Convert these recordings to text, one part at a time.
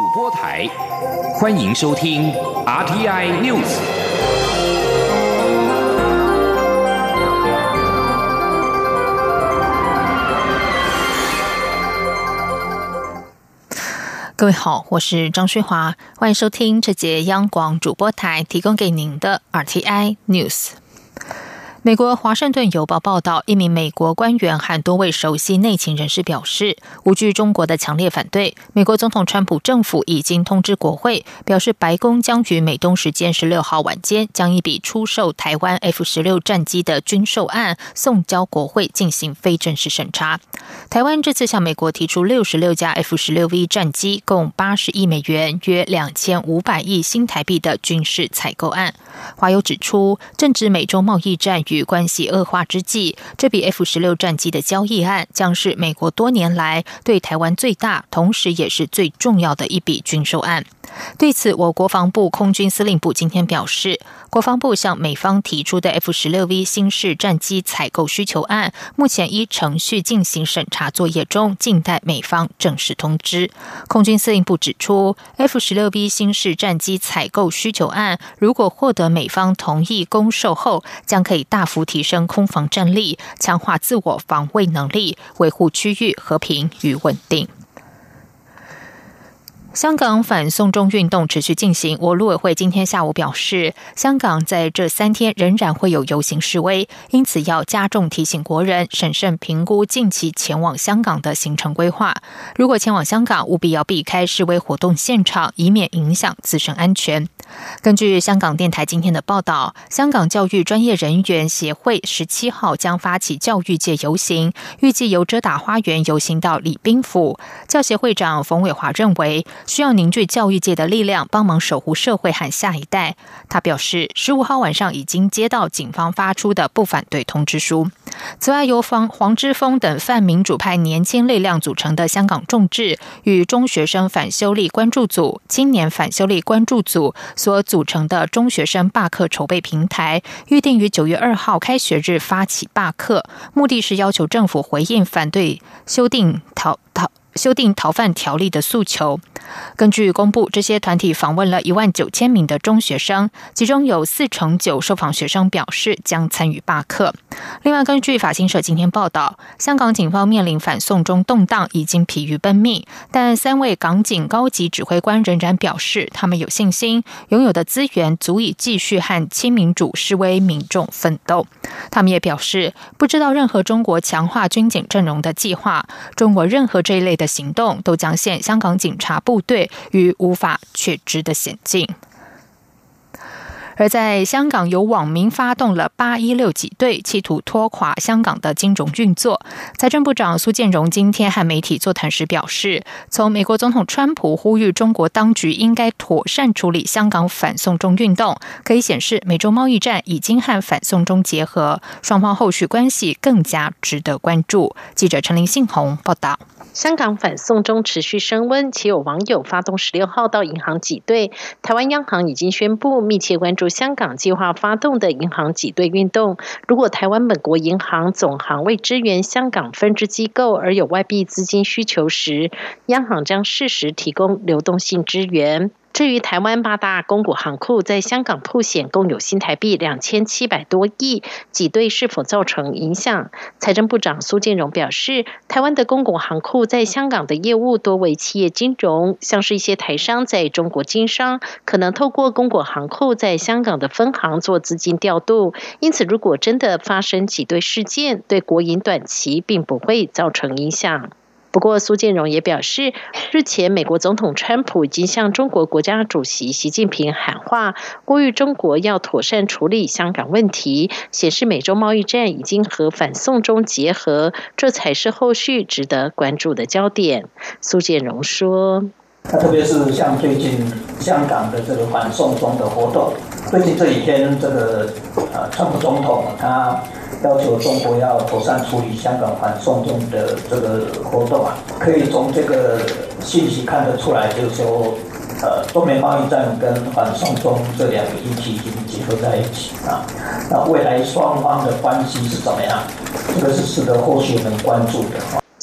播台，欢迎收听 RTI News。 各位好，我是张水华，欢迎收听这节央广主播台提供给您的 RTI News。美国华盛顿邮报报道，一名美国官员和多位熟悉内情人士表示，无惧中国的强烈反对，美国总统川普政府已经通知国会，表示白宫将于美东时间16号晚间将一笔出售台湾 F-16 战机的军售案送交国会进行非正式审查。台湾这次向美国提出66架 F-16V 战机，共80亿美元，约2500亿新台币的军事采购案。华邮指出，正值美中贸易战与关系恶化之际，这笔 F-16 战机的交易案将是美国多年来对台湾最大，同时也是最重要的一笔军售案。对此，我国防部空军司令部今天表示，国防部向美方提出的 F-16V 新式战机采购需求案，目前依程序进行审查作业中，静待美方正式通知。空军司令部指出， F-16V 新式战机采购需求案如果获得美方同意供售后，将可以大幅提升空防战力，强化自我防卫能力，维护区域和平与稳定。香港反送中运动持续进行，我陆委会今天下午表示，香港在这3天仍然会有游行示威，因此要加重提醒国人审慎评估近期前往香港的行程规划。如果前往香港，务必要避开示威活动现场，以免影响自身安全。根据香港电台今天的报道，香港教育专业人员协会17号将发起教育界游行，预计由遮打花园游行到礼宾府。教协会长冯伟华认为，需要凝聚教育界的力量，帮忙守护社会和下一代。他表示，15号晚上已经接到警方发出的不反对通知书。此外，由黄之锋等泛民主派年轻力量组成的香港众志与中学生反修例关注组、青年反修例关注组所组成的中学生罢课筹备平台，预定于9月2号开学日发起罢课，目的是要求政府回应反对修订逃犯条例的诉求。根据公布，这些团体访问了19000名的中学生，其中有49%受访学生表示将参与罢课。另外，根据法新社今天报道，香港警方面临反送中动荡，已经疲于奔命，但3位港警高级指挥官仍然表示，他们有信心，拥有的资源足以继续和亲民主示威民众奋斗。他们也表示，不知道任何中国强化军警阵容的计划，中国任何这一类的行动都将陷香港警察部队于无法确知的险境。而在香港，有网民发动了816挤兑，企图拖垮香港的金融运作。财政部长苏建荣今天和媒体座谈时表示，从美国总统川普呼吁中国当局应该妥善处理香港反送中运动，可以显示美洲贸易战已经和反送中结合，双方后续关系更加值得关注。记者陈林信宏报道。 香港反送中持续升温，且有网友发动16号到银行挤兑。台湾央行已经宣布密切关注香港计划发动的银行挤兑运动。如果台湾本国银行总行为支援香港分支机构而有外币资金需求时，央行将适时提供流动性支援。至于台湾8大公股行库在香港曝险共有新台币2700多亿，挤兑是否造成影响？财政部长苏建荣表示，台湾的公股行库在香港的业务多为企业金融，像是一些台商在中国经商，可能透过公股行库在香港的分行做资金调度，因此如果真的发生挤兑事件，对国营短期并不会造成影响。不过，苏建荣也表示，日前美国总统川普已经向中国国家主席习近平喊话，呼吁中国要妥善处理香港问题，显示美洲贸易战已经和反送中结合，这才是后续值得关注的焦点。苏建荣说， 特别是像最近香港的这个反送中的活动，最近这几天这个川普总统他要求中国要妥善处理香港反送中的这个活动啊，可以从这个信息看得出来，就是说，中美贸易战跟反送中这两个议题已经结合在一起啊。那未来双方的关系是怎么样？这个是值得后续能关注的。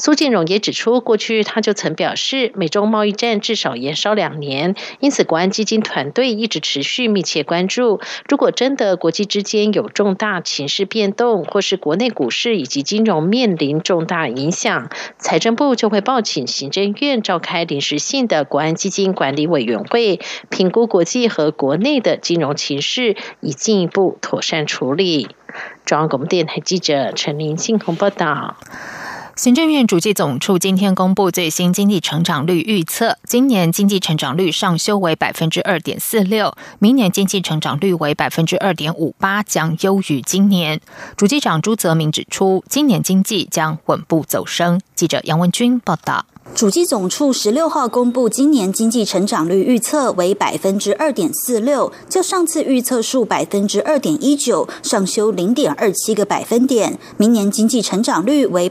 苏建荣也指出，过去他就曾表示，美中贸易战至少延烧2年，因此国安基金团队一直持续密切关注。如果真的国际之间有重大情势变动，或是国内股市以及金融面临重大影响，财政部就会报请行政院召开临时性的国安基金管理委员会，评估国际和国内的金融情势，以进一步妥善处理。中央广播电台记者陈林信宏报道。 行政院主计总处今天公布最新经济成长率预测，今年经济成长率上修为 2.46%， 明年经济成长率为 2.58%， 将优于今年。主计长朱泽民指出，今年经济将稳步走升。记者杨文君报道。 主计总处16号公布今年经济成长率预测为 2.46%， 较上次预测数 2.19% 上修 0.27 个百分点，明年经济成长率为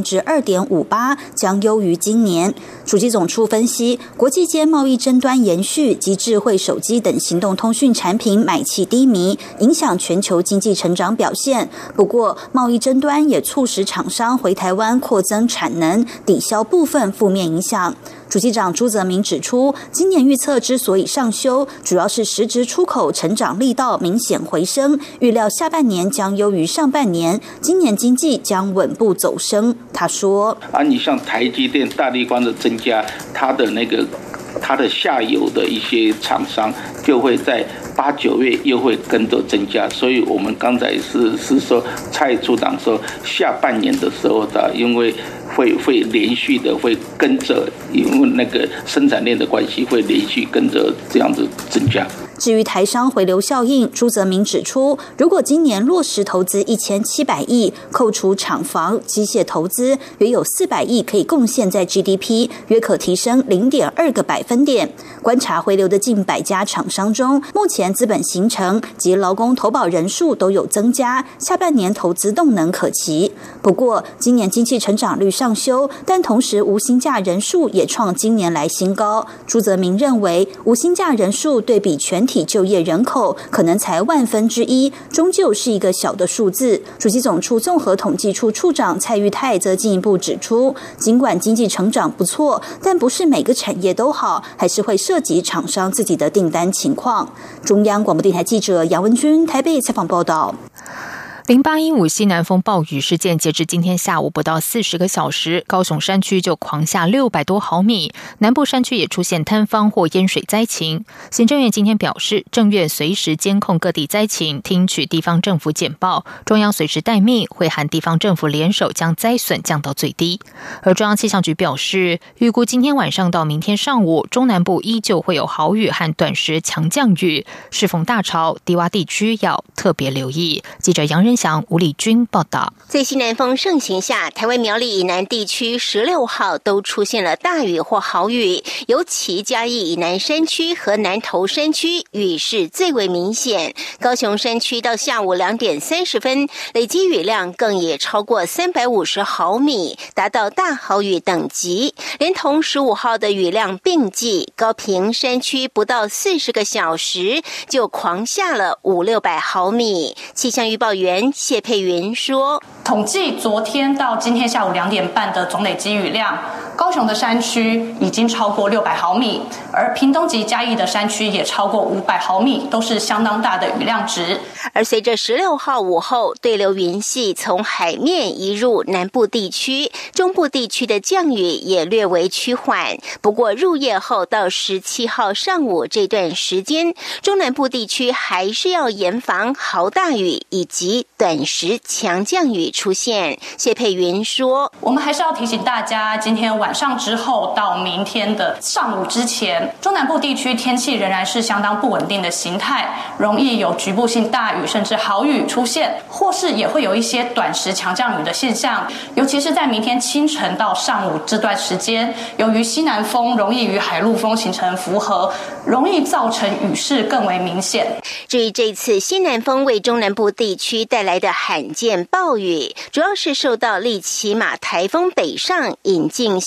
2.58%， 将优于今年。主计总处分析，国际间贸易争端延续及智慧手机等行动通讯产品买气低迷，影响全球经济成长表现。不过，贸易争端也促使厂商回台湾扩增产能，抵消部分负面影响。主计长朱泽民指出，今年预测之所以上修，主要是实质出口成长力道明显回升，预料下半年将优于上半年，今年经济将稳步走升。他说： 你像台积电、大立光的增加，它的下游的一些厂商就会在8、9月又会跟着增加，所以我们刚才是说蔡处长说下半年的时候的，因为会连续的会跟着，因为那个生产链的关系会连续跟着这样子增加。 至于台商回流效应，朱泽民指出，如果今年落实投资1700亿，扣除厂房、机械投资，约有400亿可以贡献在 GDP， 约可提升 0.2个百分点。观察回流的近100家厂商中，目前资本形成及劳工投保人数都有增加，下半年投资动能可期。不过，今年经济成长率上修，但同时无薪假人数也创今年来新高。朱泽民认为，无薪假人数对比全体就业人口可能才1/1000，终究是一个小的数字。主计总处综合统计处处长蔡玉泰则进一步指出，尽管经济成长不错，但不是每个产业都好，还是会涉及厂商自己的订单情况。中央广播电台记者杨文君台北采访报道。 0815西南风暴雨事件，截至今天下午不到40个小时，高雄山区就狂下600多毫米，南部山区也出现坍方或淹水灾情。行政院今天表示，政院随时监控各地灾情，听取地方政府简报，中央随时待命，会和地方政府联手将灾损降到最低。而中央气象局表示，预估今天晚上到明天上午，中南部依旧会有豪雨和短时强降雨，适逢大潮，低洼地区要特别留意。记者杨仁祥、吴丽君报道。 在西南风盛行下，台湾苗栗以南地区16号都出现了大雨或豪雨，尤其嘉义以南山区和南投山区雨势最为明显。高雄山区到下午2点30分，累积雨量更也超过350毫米，达到大豪雨等级。连同15号的雨量并计，高屏山区不到40个小时就狂下了500-600毫米。气象预报员谢佩云说， 统计昨天到今天下午2点半的总累积雨量，高雄的山区已经超过600毫米，而屏东及嘉义的山区也超过500毫米，都是相当大的雨量值。 而随着16号午后对流云系从海面移入南部地区，中部地区的降雨也略为趋缓。不过入夜后到17号上午这段时间，中南部地区还是要严防豪大雨以及短时强降雨出现。谢佩云说， 我们还是要提醒大家，今天晚上之后到明天的上午之前，中南部地区天气仍然是相当不稳定的形态，容易有局部性大雨甚至豪雨出现，或是也会有一些短时强降雨的现象。尤其是在明天清晨到上午这段时间，由于西南风容易与海陆风形成符合，容易造成雨势更为明显。 至于这次西南风为中南部地区带来的罕见暴雨，主要是受到利奇马台风北上引进西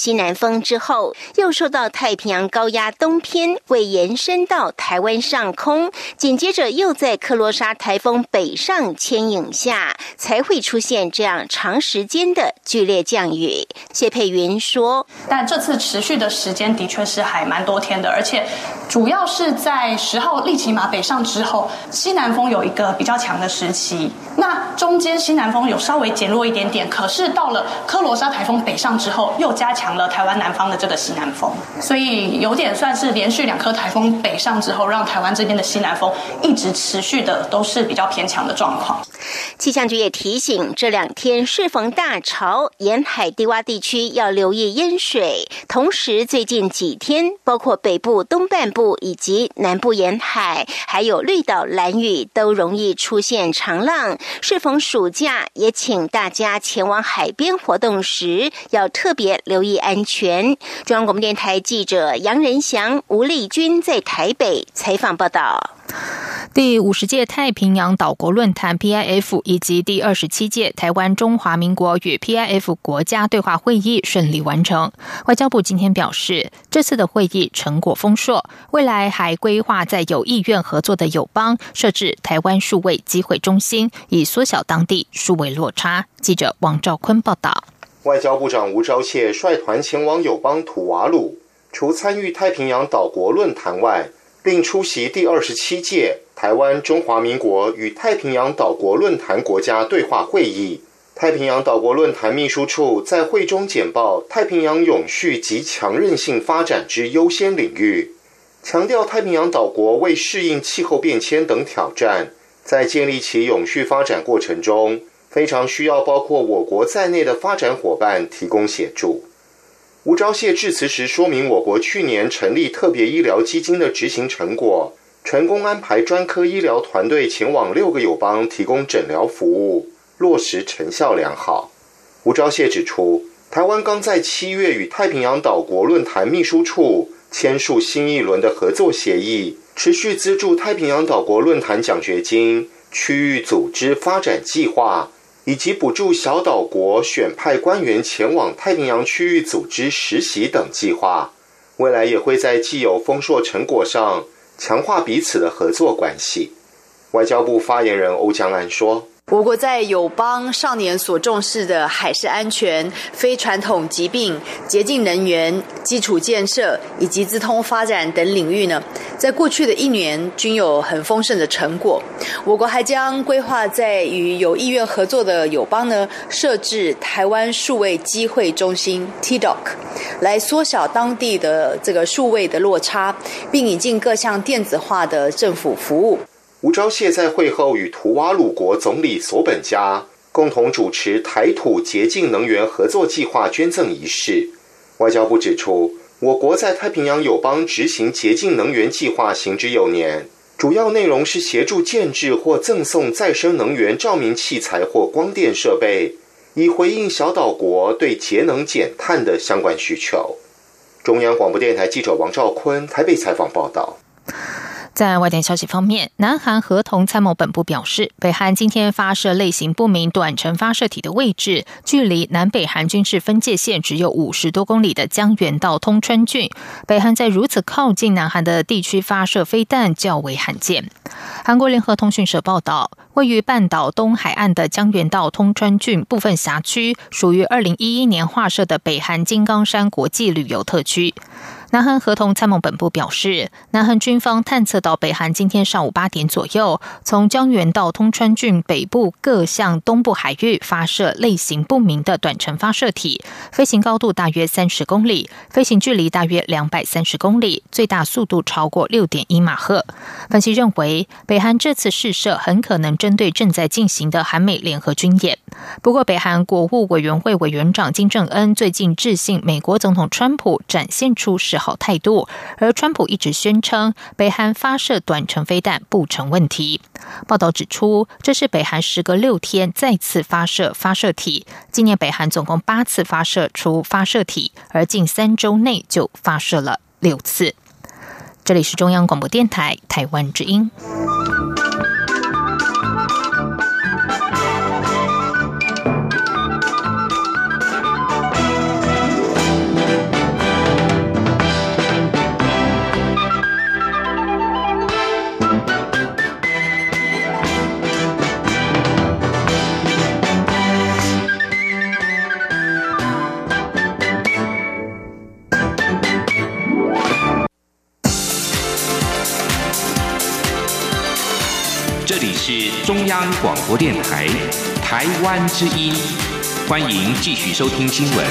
西南风之后，又受到太平洋高压东偏未延伸到台湾上空，紧接着又在克罗莎台风北上牵引下，才会出现这样长时间的剧烈降雨。谢佩云说， 但这次持续的时间的确是还蛮多天的，而且主要是在10号利奇马北上之后，西南风有一个比较强的时期，那中间西南风有稍微减弱一点点，可是到了科罗莎台风北上之后，又加强了台湾南方的这个西南风，所以有点算是连续2颗台风北上之后，让台湾这边的西南风一直持续的都是比较偏强的状况。 气象局也提醒，这2天适逢大潮，沿海低洼地区要留意淹水。同时，最近几天，包括北部东半部以及南部沿海，还有绿岛、兰屿，都容易出现长浪。适逢暑假，也请大家前往海边活动时，要特别留意安全。中央广播电台记者杨仁祥、吴丽君在台北采访报道。 第50届太平洋岛国论坛 PIF 以及第27届台湾中华民国与 PIF 国家对话会议顺利完成。外交部今天表示，这次的会议成果丰硕，未来还规划在有意愿合作的友邦设置台湾数位机会中心，以缩小当地数位落差。记者王兆坤报道。 外交部长吴钊燮率团前往友邦土瓦鲁，除参与太平洋岛国论坛外，并出席第27届台湾中华民国与太平洋岛国论坛国家对话会议。太平洋岛国论坛秘书处在会中简报太平洋永续及强韧性发展之优先领域，强调太平洋岛国为适应气候变迁等挑战，在建立其永续发展过程中，非常需要包括我国在内的发展伙伴提供协助。吴钊燮致辞时说明，我国去年成立特别医疗基金的执行成果，成功安排专科医疗团队前往6个友邦提供诊疗服务，落实成效良好。吴钊燮指出，台湾刚在7月与太平洋岛国论坛秘书处签署新一轮的合作协议，持续资助太平洋岛国论坛奖学金、区域组织发展计划，以及补助小岛国选派官员前往太平洋区域组织实习等计划。未来也会在既有丰硕成果上强化彼此的合作关系。外交部发言人欧江安说， 我国在友邦少年所重视的海事安全、非传统疾病、洁净能源、基础建设以及资通发展等领域呢，在过去的1年均有很丰盛的成果。我国还将规划在与有意愿合作的友邦呢，设置台湾数位机会中心 TDOC， 来缩小当地的这个数位的落差，并引进各项电子化的政府服务。 吴钊燮在会后与图瓦鲁国总理索本加共同主持台土洁净能源合作计划捐赠仪式。外交部指出，我国在太平洋友邦执行洁净能源计划行之有年，主要内容是协助建制或赠送再生能源照明器材或光电设备，以回应小岛国对节能减碳的相关需求。中央广播电台记者王兆坤台北采访报道。 在外电消息方面，南韩合同参谋本部表示，北韩今天发射类型不明短程发射体的位置，距离南北韩军事分界线只有50多公里的江原道通川郡。北韩在如此靠近南韩的地区发射飞弹较为罕见。韩国联合通讯社报道，位于半岛东海岸的江原道通川郡部分辖区，属于2011年划设的北韩金刚山国际旅游特区。南韩合同参谋本部表示，南韩军方探测到北韩今天上午8点左右，从江原道通川郡北部各向东部海域发射类型不明的短程发射体，飞行高度大约30公里，飞行距离大约230公里，最大速度超过 6.1 马赫。分析认为，北韩这次试射很可能针对正在进行的韩美联合军演。不过，北韩国务委员会委员长金正恩最近致信美国总统川普，展现出示好态度，而川普一直宣称北韩发射短程飞弹不成问题。报道指出，这是北韩时隔6天再次发射发射体，今年北韩总共8次发射出发射体，而近3周内就发射了6次。这里是中央广播电台台湾之音。 是中央广播电台台湾之音，欢迎继续收听新闻。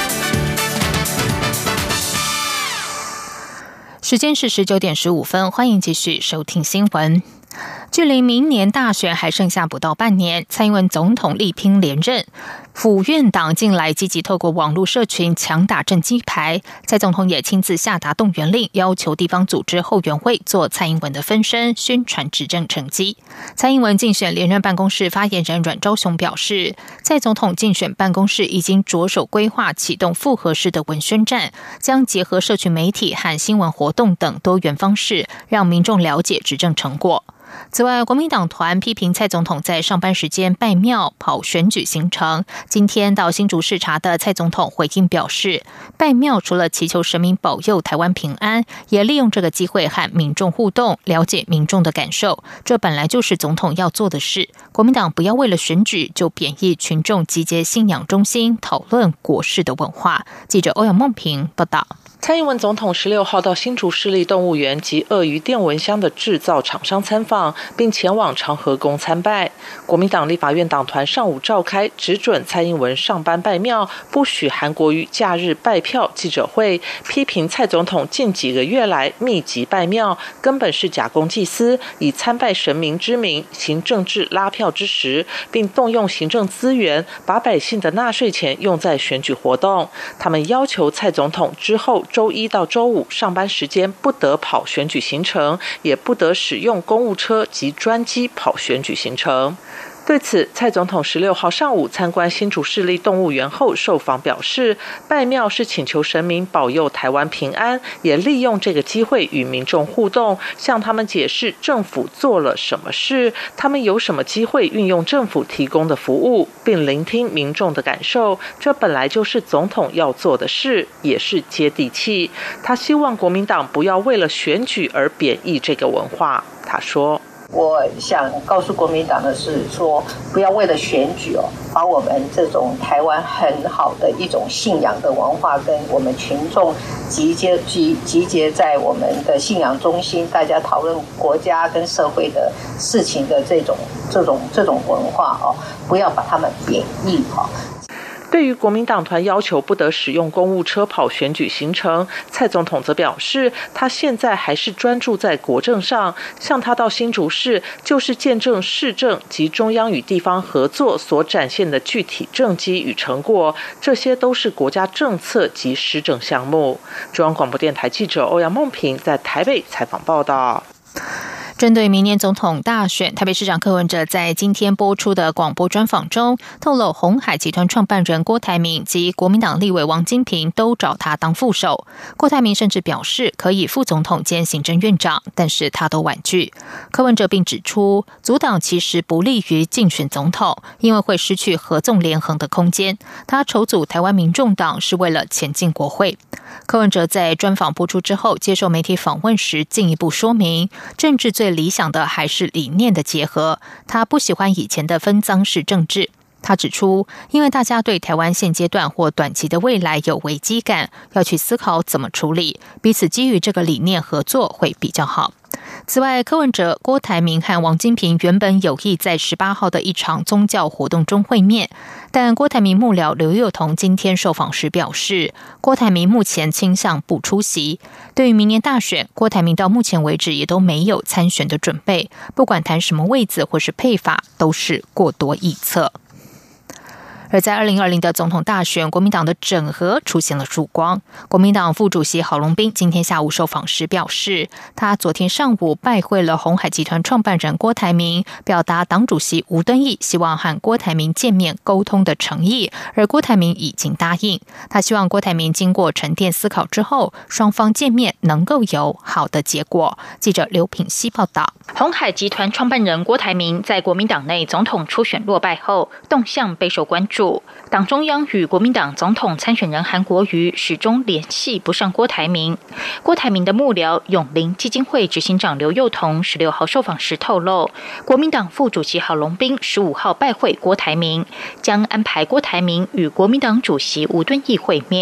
时间是19点15分，欢迎继续收听新闻。距离明年大选还剩下不到半年，蔡英文总统力拼连任，府院党近来积极透过网络社群强打政绩牌。蔡总统也亲自下达动员令，要求地方组织后援会做蔡英文的分身，宣传执政成绩。蔡英文竞选连任办公室发言人阮昭雄表示，蔡总统竞选办公室已经着手规划启动复合式的文宣战，将结合社群媒体和新闻活动等多元方式，让民众了解执政成果。此外，国民党团批评蔡总统在上班时间拜庙跑选举行程。今天到新竹视察的蔡总统回应表示，拜庙除了祈求神明保佑台湾平安，也利用这个机会和民众互动，了解民众的感受。这本来就是总统要做的事。国民党不要为了选举就贬义群众集结信仰中心，讨论国事的文化。记者欧阳梦平报道。 蔡英文总统16号到新竹市立动物园及鳄鱼电蚊香的制造厂商参访，并前往长和宫参拜。国民党立法院党团上午召开只准蔡英文上班拜庙，不许韩国瑜假日拜票记者会，批评蔡总统近几个月来密集拜庙，根本是假公济私，以参拜神明之名行政治拉票之实，并动用行政资源，把百姓的纳税钱用在选举活动。他们要求蔡总统之后周一到周五上班时间不得跑选举行程，也不得使用公务车及专机跑选举行程。对此，蔡总统16号上午参观新竹市立动物园后受访表示，拜庙是请求神明保佑台湾平安，也利用这个机会与民众互动，向他们解释政府做了什么事，他们有什么机会运用政府提供的服务，并聆听民众的感受。这本来就是总统要做的事，也是接地气。他希望国民党不要为了选举而贬义这个文化。他说， 我想告诉国民党的是说，不要为了选举把我们这种台湾很好的一种信仰的文化跟我们群众集结在我们的信仰中心，大家讨论国家跟社会的事情的这种文化不要把他们贬义对于国民党团要求不得使用公务车跑选举行程，蔡总统则表示，他现在还是专注在国政上，像他到新竹市，就是见证市政及中央与地方合作所展现的具体政绩与成果，这些都是国家政策及施政项目。中央广播电台记者欧阳梦平在台北采访报道。 针对明年总统大选，台北市长柯文哲在今天播出的广播专访中透露，鸿海集团创办人郭台铭及国民党立委王金平都找他当副手。郭台铭甚至表示可以副总统兼行政院长，但是他都婉拒。柯文哲并指出，组党其实不利于竞选总统，因为会失去合纵连横的空间。他筹组台湾民众党是为了前进国会。柯文哲在专访播出之后接受媒体访问时进一步说明，政治最理想的还是理念的结合，他不喜欢以前的分赃式政治。他指出，因为大家对台湾现阶段或短期的未来有危机感，要去思考怎么处理，彼此基于这个理念合作会比较好。此外，柯文哲、郭台铭和王金平原本有意在18号的一场宗教活动中会面，但郭台铭幕僚刘宥彤今天受访时表示，郭台铭目前倾向不出席。对于明年大选，郭台铭到目前为止也都没有参选的准备，不管谈什么位子或是配法，都是过多臆测。而在2020的总统大选，国民党的整合出现了曙光。国民党副主席郝龙斌今天下午受访时表示，他昨天上午拜会了鸿海集团创办人郭台铭，表达党主席吴敦义希望和郭台铭见面沟通的诚意，而郭台铭已经答应。他希望郭台铭经过沉淀思考之后，双方见面能够有好的结果。记者刘品希报道。 鸿海集团创办人郭台铭在国民党内总统初选落败后，动向备受关注。党中央与国民党总统参选人韩国瑜始终联系不上郭台铭。郭台铭的幕僚永林基金会执行长刘宥彤16号受访时透露，国民党副主席郝龙斌15号拜会郭台铭，将安排郭台铭与国民党主席吴敦义会面。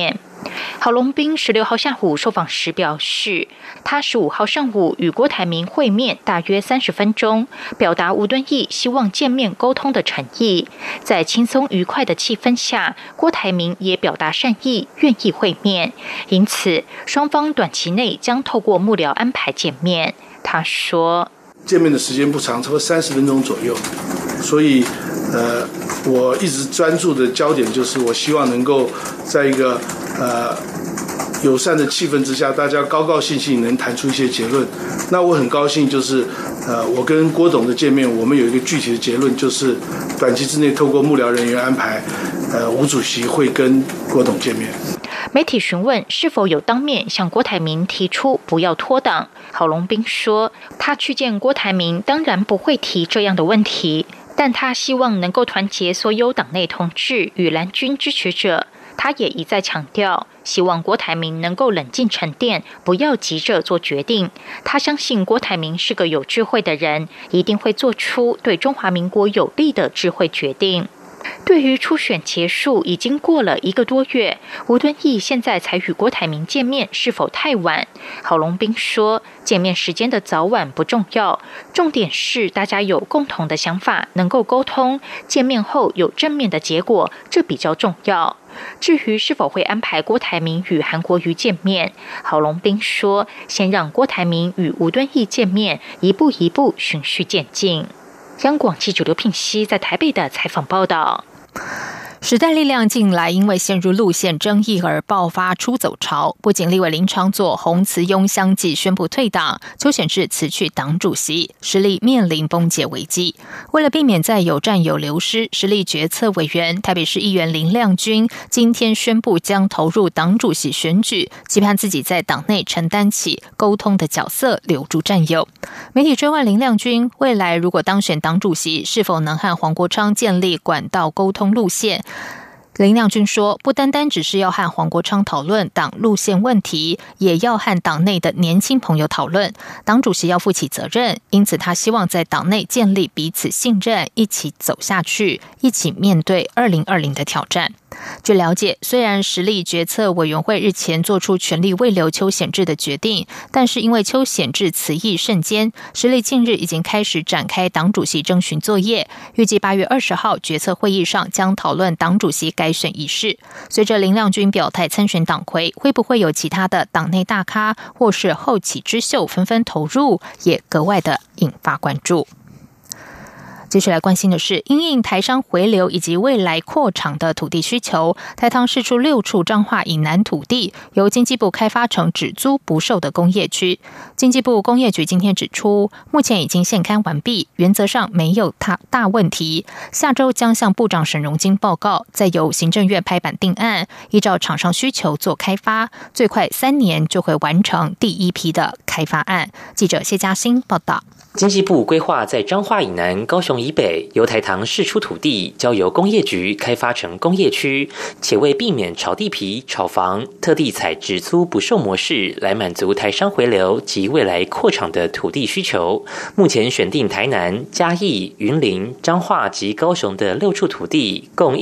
郝龙斌16号下午受访时表示，他15号上午与郭台铭会面大约30分钟，表达吴敦义希望见面沟通的诚意。在轻松愉快的气氛下，郭台铭也表达善意，愿意会面，因此双方短期内将透过幕僚安排见面。他说， 见面的时间不长，差不多30分钟左右，所以我一直专注的焦点就是我希望能够在一个友善的气氛之下，大家高高兴兴能谈出一些结论。那我很高兴，就是我跟郭董的见面，我们有一个具体的结论，就是短期之内透过幕僚人员安排，吴主席会跟郭董见面。 媒体询问是否有当面向郭台铭提出不要脱党，郝龙斌说，他去见郭台铭当然不会提这样的问题，但他希望能够团结所有党内同志与蓝军支持者。他也一再强调，希望郭台铭能够冷静沉淀，不要急着做决定。他相信郭台铭是个有智慧的人，一定会做出对中华民国有利的智慧决定。对于初选结束已经过了1个多月，吴敦义现在才与郭台铭见面，是否太晚？郝龙斌说，见面时间的早晚不重要，重点是大家有共同的想法，能够沟通，见面后有正面的结果，这比较重要。至于是否会安排郭台铭与韩国瑜见面，郝龙斌说，先让郭台铭与吴敦义见面，一步一步循序渐进。央广记者刘聘熙在台北的采访报道。 时代力量近来因为陷入路线争议而爆发出走潮，不仅立委林昶佐、洪慈庸相继宣布退党，邱显智辞去党主席，时力面临崩解危机。为了避免再有战友流失，时力决策委员台北市议员林亮君今天宣布将投入党主席选举，期盼自己在党内承担起沟通的角色，留住战友。媒体追问林亮君未来如果当选党主席，是否能和黄国昌建立管道沟通路线。林亮君说，不单单只是要和黄国昌讨论党路线问题，也要和党内的年轻朋友讨论，党主席要负起责任，因此他希望在党内建立彼此信任，一起走下去，一起面对2020的挑战。据了解，虽然时力决策委员会日前做出全力慰留邱显智的决定，但是因为邱显智辞意甚坚，时力近日已经开始展开党主席征询作业，预计8月20号决策会议上将讨论党主席改选仪式。随着林亮君表态参选党魁，会不会有其他的党内大咖或是后起之秀纷纷投入，也格外的引发关注。接下来关心的是，因应台商回流以及未来扩厂的土地需求，台糖释出6处彰化以南土地，由经济部开发成只租不售的工业区。经济部工业局今天指出，目前已经现勘完毕，原则上没有大问题。下周将向部长沈荣金报告，再由行政院拍板定案，依照厂商需求做开发，最快3年就会完成第一批的开发案。记者谢嘉欣报道。 经济部规划在彰化以南、高雄以北由台糖释出土地，交由工业局开发成工业区，且为避免炒地皮、炒房，特地采只租不售模式来满足台商回流及未来扩厂的土地需求。目前选定台南、嘉义、云林、彰化及高雄的6处土地，共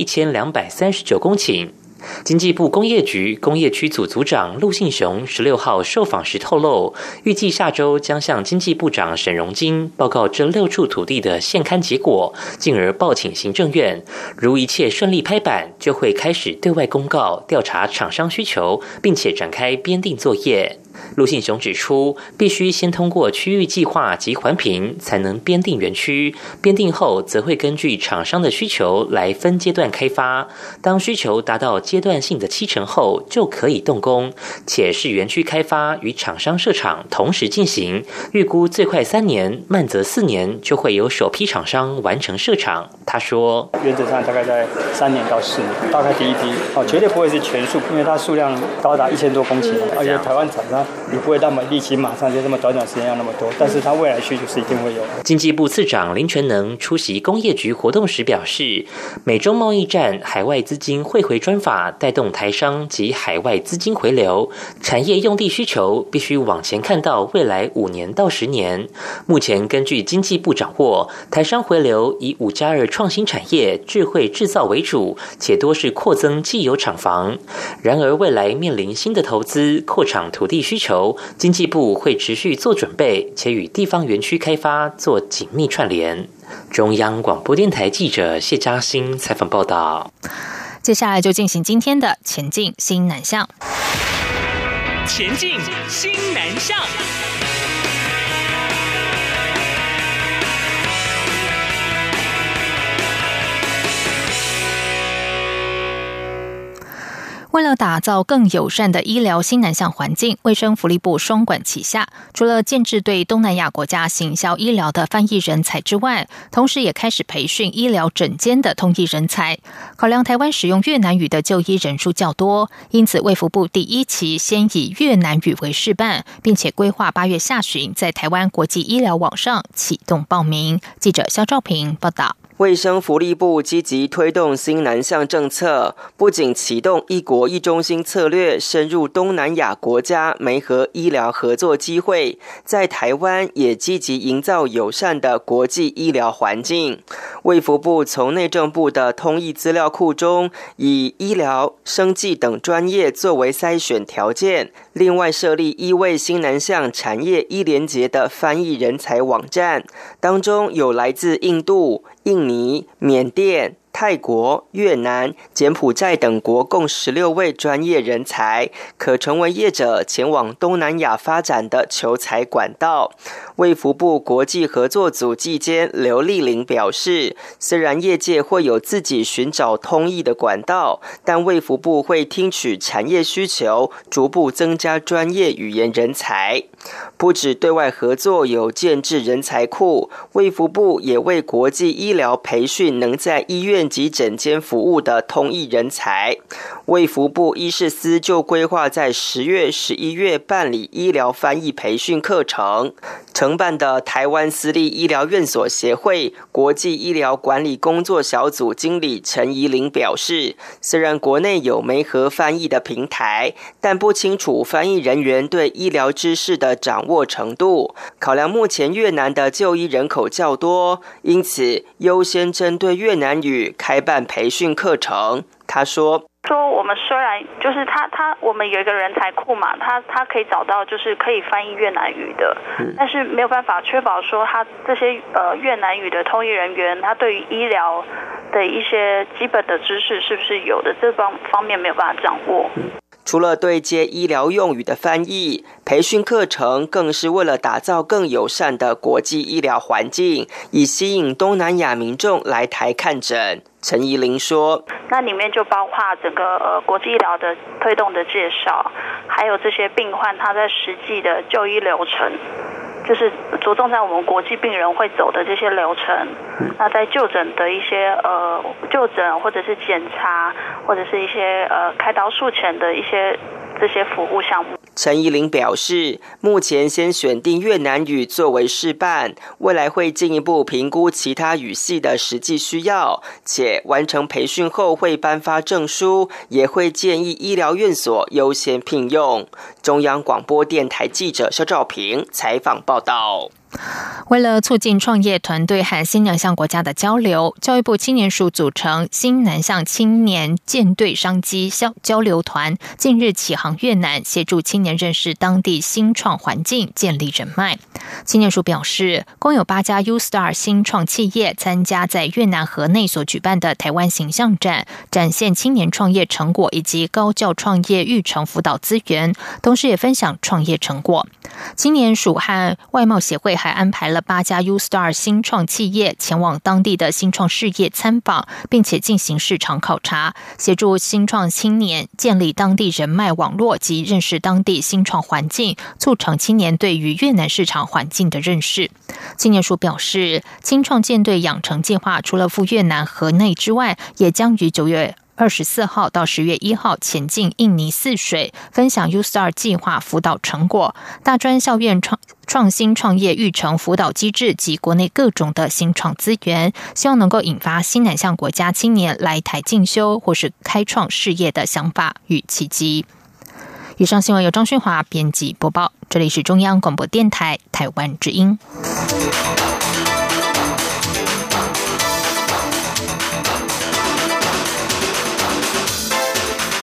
1239公顷。经济部工业局工业区组组长陆信雄16号受访时透露，预计下周将向经济部长沈荣金报告这6处土地的现勘结果，进而报请行政院。如一切顺利拍板，就会开始对外公告调查厂商需求，并且展开编定作业。陆信雄指出，必须先通过区域计划及环评，才能编定园区。编定后，则会根据厂商的需求来分阶段开发。当需求达到阶段性的70%后，就可以动工，且是园区开发与厂商设厂同时进行。预估最快3年，慢则4年，就会有首批厂商完成设厂。他说， 原则上大概在3年到4年，大概第一批绝对不会是全数，因为它数量高达1000多公顷，而且台湾厂商也不会那么立即马上就这么短时间要那么多，但是它未来需求是一定会有的。 经济部次长林全能出席工业局活动时表示，美中贸易战海外资金汇回专法带动台商及海外资金回流，产业用地需求必须往前看到未来5年到10年。目前根据经济部掌握，台商回流以5+2创新产业、智慧制造为主，且多是扩增既有厂房。然而未来面临新的投资、扩厂土地需求，经济部会持续做准备，且与地方园区开发做紧密串联。中央广播电台记者谢嘉欣采访报道。 接下来就进行今天的前进新南向。 前进新南向。 为了打造更友善的医疗新南向环境，卫生福利部双管齐下，除了建制对东南亚国家行销医疗的翻译人才之外，同时也开始培训医疗诊间的通译人才。考量台湾使用越南语的就医人数较多，因此卫福部第1期先以越南语为示范，并且规划8月下旬在台湾国际医疗网上启动报名。记者肖兆平报道。 卫生福利部积极推动新南向政策，不仅启动一国一中心策略，深入东南亚国家媒合医疗合作机会，在台湾也积极营造友善的国际医疗环境。卫福部从内政部的通译资料库中，以医疗、生技等专业作为筛选条件，另外设立1位新南向产业医联结的翻译人才网站，当中有来自印度、印尼、缅甸、泰国、越南、柬埔寨等国共16位专业人才，可成为业者前往东南亚发展的求才管道。卫福部国际合作组技监刘丽玲表示，虽然业界会有自己寻找通译的管道，但卫福部会听取产业需求，逐步增加专业语言人才。不止对外合作有建制人才库，卫福部也为国际医疗培训能在医院及诊间服务的通译人才。卫福部医事司就规划在10月、11月办理医疗翻译培训课程。承办的台湾私立医疗院所协会国际医疗管理工作小组经理陈怡玲表示，虽然国内有媒合翻译的平台，但不清楚翻译人员对医疗知识的掌握程度。考量目前越南的就医人口较多，因此优先针对越南语开办培训课程。他说我们虽然就是我们有一个人才库嘛，他可以找到就是可以翻译越南语的，但是没有办法确保说他这些越南语的通译人员，他对于医疗的一些基本的知识是不是有的，这方面没有办法掌握。 除了对接医疗用语的翻译，培训课程更是为了打造更友善的国际医疗环境，以吸引东南亚民众来台看诊。陈怡玲说， 那里面就包括整个国际医疗的推动的介绍，还有这些病患他在实际的就医流程，就是着重在我们国际病人会走的这些流程。那在就诊的一些就诊或者是检查，或者是一些开刀术前的一些这些服务项目。 陈怡玲表示，目前先选定越南语作为示范，未来会进一步评估其他语系的实际需要，且完成培训后会颁发证书，也会建议医疗院所优先聘用。中央广播电台记者肖兆平采访报道。 为了促进创业团队和新南向国家的交流，教育部青年署组成新南向青年舰队商机交流团，近日启航越南，协助青年认识当地新创环境，建立人脉。青年署表示，共有8家 U-Star 新创企业参加在越南河内所举办的台湾形象展，展现青年创业成果以及高教创业育成辅导资源，同时也分享创业成果。青年署和外贸协会还安排了8家 U-Star 新创企业前往当地的新创事业参访，并且进行市场考察，协助新创青年建立当地人脉网络及认识当地新创环境，促成青年对于越南市场环境的认识。青年署表示，青创舰队养成计划除了赴越南河内之外，也将于9月 24号到10月1号前进印尼泗水，分享 U-Star 计划辅导成果。大专校院创新创业育成辅导机制及国内各种的新创资源，希望能够引发新南向国家青年来台进修或是开创事业的想法与契机。以上新闻由张勋华编辑播报，这里是中央广播电台台湾之音。